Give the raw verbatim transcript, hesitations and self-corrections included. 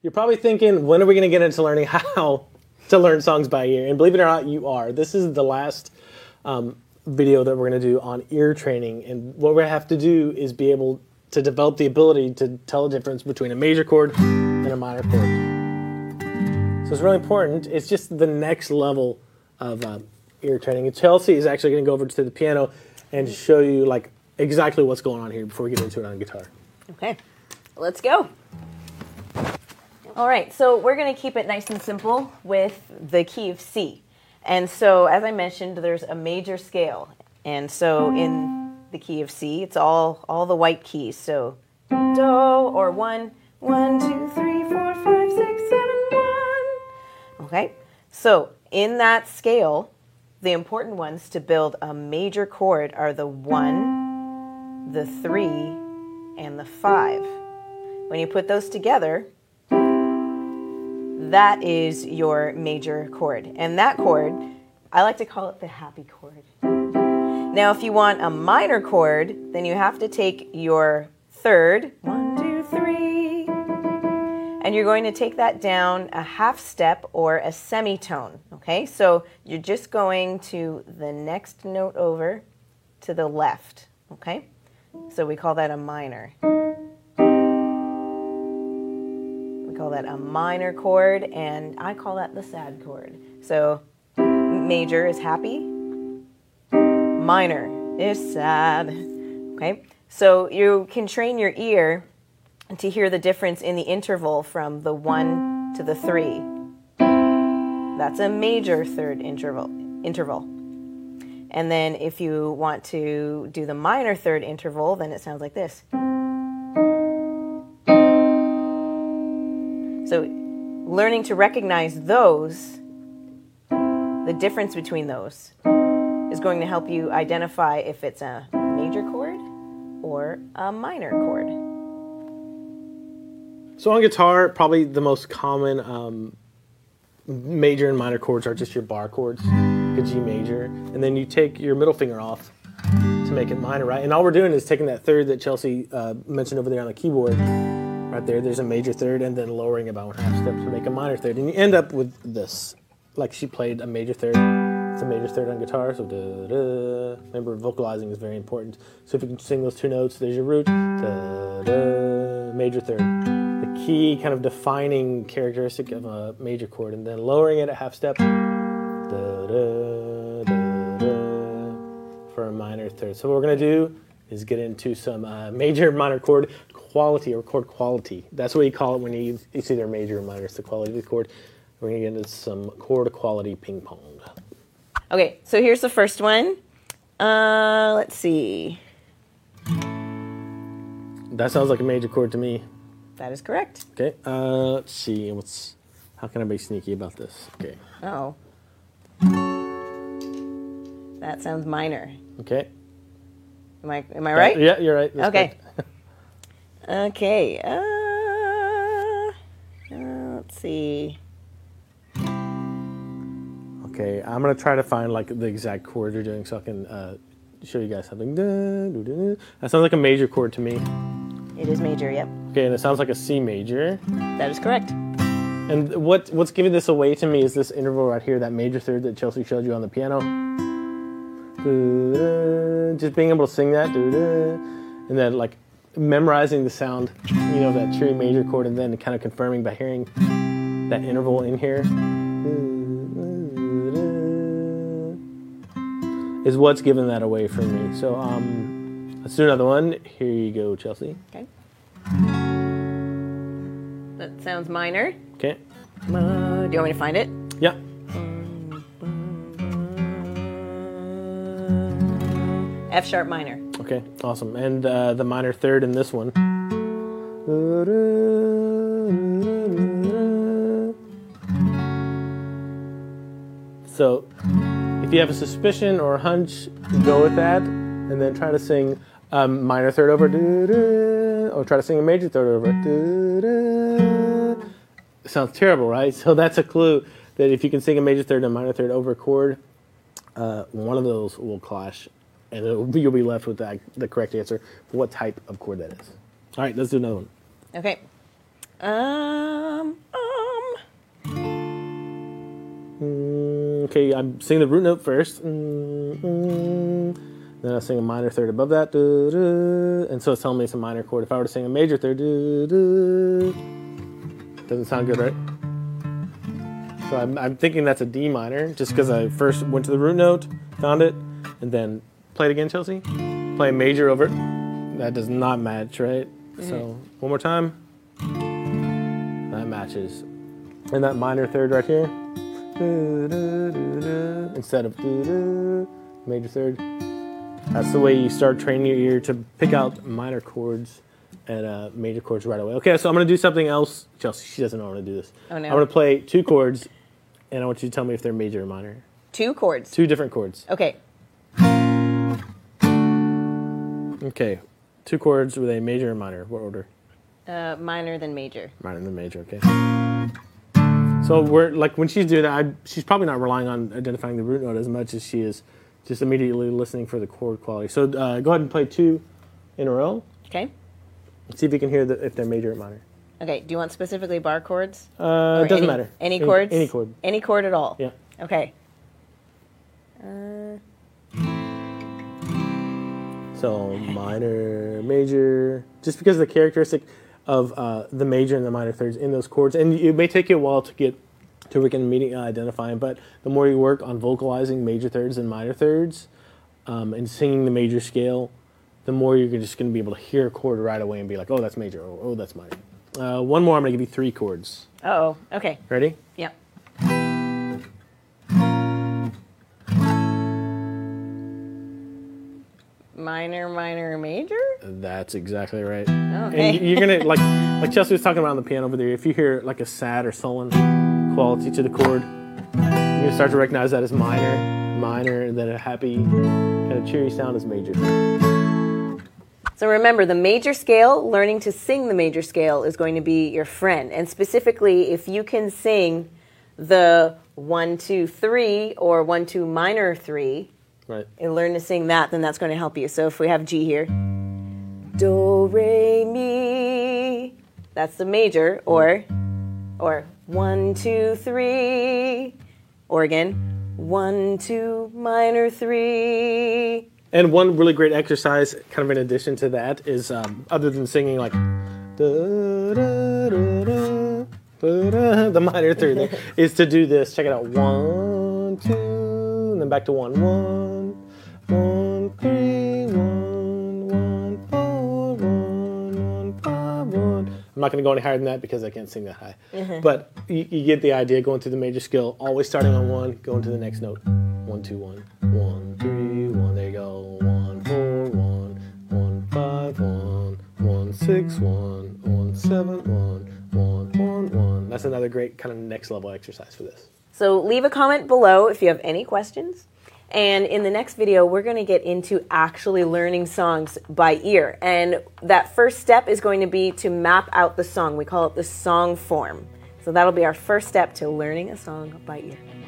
You're probably thinking, when are we going to get into learning how to learn songs by ear? And believe it or not, you are. This is the last um, video that we're going to do on ear training. And what we have to do is be able to develop the ability to tell the difference between a major chord and a minor chord. So it's really important. It's just the next level of uh, ear training. And Chelsea is actually going to go over to the piano and show you like exactly what's going on here before we get into it on guitar. Okay, let's go. All right, so we're going to keep it nice and simple with the key of C. And so, as I mentioned, there's a major scale. And so in the key of C, it's all, all the white keys. So do, or one, one, two, three, four, five, six, seven, one. Okay, so in that scale, the important ones to build a major chord are the one, the three, and the five. When you put those together, that is your major chord. And that chord, I like to call it the happy chord. Now, if you want a minor chord, then you have to take your third, one, two, three, and you're going to take that down a half step or a semitone, okay? So you're just going to the next note over to the left, okay? So we call that a minor. We call that a minor chord, and I call that the sad chord. So major is happy, minor is sad, okay? So you can train your ear to hear the difference in the interval from the one to the three. That's a major third interval. interval. And then if you want to do the minor third interval, then it sounds like this. So learning to recognize those, the difference between those, is going to help you identify if it's a major chord or a minor chord. So on guitar, probably the most common um, major and minor chords are just your bar chords, a G major, and then you take your middle finger off to make it minor, right? And all we're doing is taking that third that Chelsea uh, mentioned over there on the keyboard, right there, there's a major third, and then lowering about one half step to make a minor third. And you end up with this, like she played a major third. It's a major third on guitar, so da, da. Remember, vocalizing is very important. So if you can sing those two notes, there's your root, da, da, major third. The key kind of defining characteristic of a major chord, and then lowering it a half step, da, da, da, da, for a minor third. So what we're going to do is get into some uh, major minor chord quality or chord quality. That's what you call it when you it's either major or minor. It's the quality of the chord. We're going to get into some chord quality ping pong. Okay, so here's the first one. Uh, let's see. That sounds like a major chord to me. That is correct. Okay, uh, let's see. What's how can I be sneaky about this? Okay. Oh. That sounds minor. Okay. Am I am I right? Uh, yeah, you're right. That's okay. okay. Uh, uh, let's see. Okay, I'm gonna try to find like the exact chord you're doing so I can uh, show you guys something. That sounds like a major chord to me. It is major, yep. Okay, and it sounds like a C major. That is correct. And what what's giving this away to me is this interval right here, that major third that Chelsea showed you on the piano. Just being able to sing that, and then like memorizing the sound, you know, that cheery major chord, and then kind of confirming by hearing that interval in here. Is what's giving that away for me. So um, let's do another one. Here you go, Chelsea. Okay. That sounds minor. Okay. Uh, do you want me to find it? Yeah. F sharp minor. Okay, awesome. And uh, the minor third in this one. So if you have a suspicion or a hunch, go with that, and then try to sing um, minor third over, or try to sing a major third over. It sounds terrible, right? So that's a clue that if you can sing a major third and a minor third over a chord, uh, one of those will clash, and it'll be, you'll be left with that, the correct answer for what type of chord that is. All right, let's do another one. Okay. Um. okay, I'm singing the root note first. Mm, mm. Then I sing a minor third above that. Doo, doo, and so it's telling me it's a minor chord. If I were to sing a major third, doo, doo, doesn't sound good, right? So I'm, I'm thinking that's a D minor, just because I first went to the root note, found it, and then play it again, Chelsea. Play a major over it. That does not match, right? Mm-hmm. So one more time. That matches. And that minor third right here, doo, doo, doo, doo, instead of doo, doo, major third. That's the way you start training your ear to pick out minor chords and uh, major chords right away. Okay, so I'm going to do something else. Chelsea, she doesn't know how to do this. Oh, no. I'm going to play two chords, and I want you to tell me if they're major or minor. Two chords? Two different chords. Okay. Okay, two chords with a major and minor. What order? Uh, minor then major. Minor than major, okay. So we're like when she's doing that, I, she's probably not relying on identifying the root note as much as she is just immediately listening for the chord quality. So uh, go ahead and play two in a row. Okay. See if you can hear the, if they're major or minor. Okay. Do you want specifically bar chords? Uh, it doesn't any, matter. Any chords? Any, any chord. Any chord at all? Yeah. Okay. Uh... So minor, major, just because of the characteristic of uh, the major and the minor thirds in those chords. And it may take you a while to get to we can immediately identify them, but the more you work on vocalizing major thirds and minor thirds um, and singing the major scale, the more you're just going to be able to hear a chord right away and be like, oh, that's major, or oh, that's minor. Uh, one more, I'm going to give you three chords. Uh-oh, okay. Ready? Yep. Minor, minor, major? That's exactly right. Okay. And you're going to, like like Chelsea was talking about on the piano over there, if you hear like a sad or sullen quality to the chord, you're going to start to recognize that as minor, minor, and then a happy, kind of cheery sound is major. So remember, the major scale, learning to sing the major scale is going to be your friend. And specifically, if you can sing the one, two, three, or one, two minor three, right, and learn to sing that, then that's going to help you. So if we have G here, do, re, mi, that's the major, or, or one, two, three, or again, one, two, minor three. And one really great exercise, kind of in addition to that, is um, other than singing like da, da, da, da, da, da, the minor third, there, is to do this. Check it out. One, two, and then back to one. One, one, three, one, one, four, one, one, five, one. I'm not going to go any higher than that because I can't sing that high. Mm-hmm. But you, you get the idea, going through the major scale, always starting on one, going to the next note. One, two, one, one, three, one. There you go. One, four, one, one, five, one, one, six, one, one, seven, one, one, one, one. That's another great kind of next level exercise for this. So leave a comment below if you have any questions. And in the next video, we're going to get into actually learning songs by ear. And that first step is going to be to map out the song. We call it the song form. So that'll be our first step to learning a song by ear.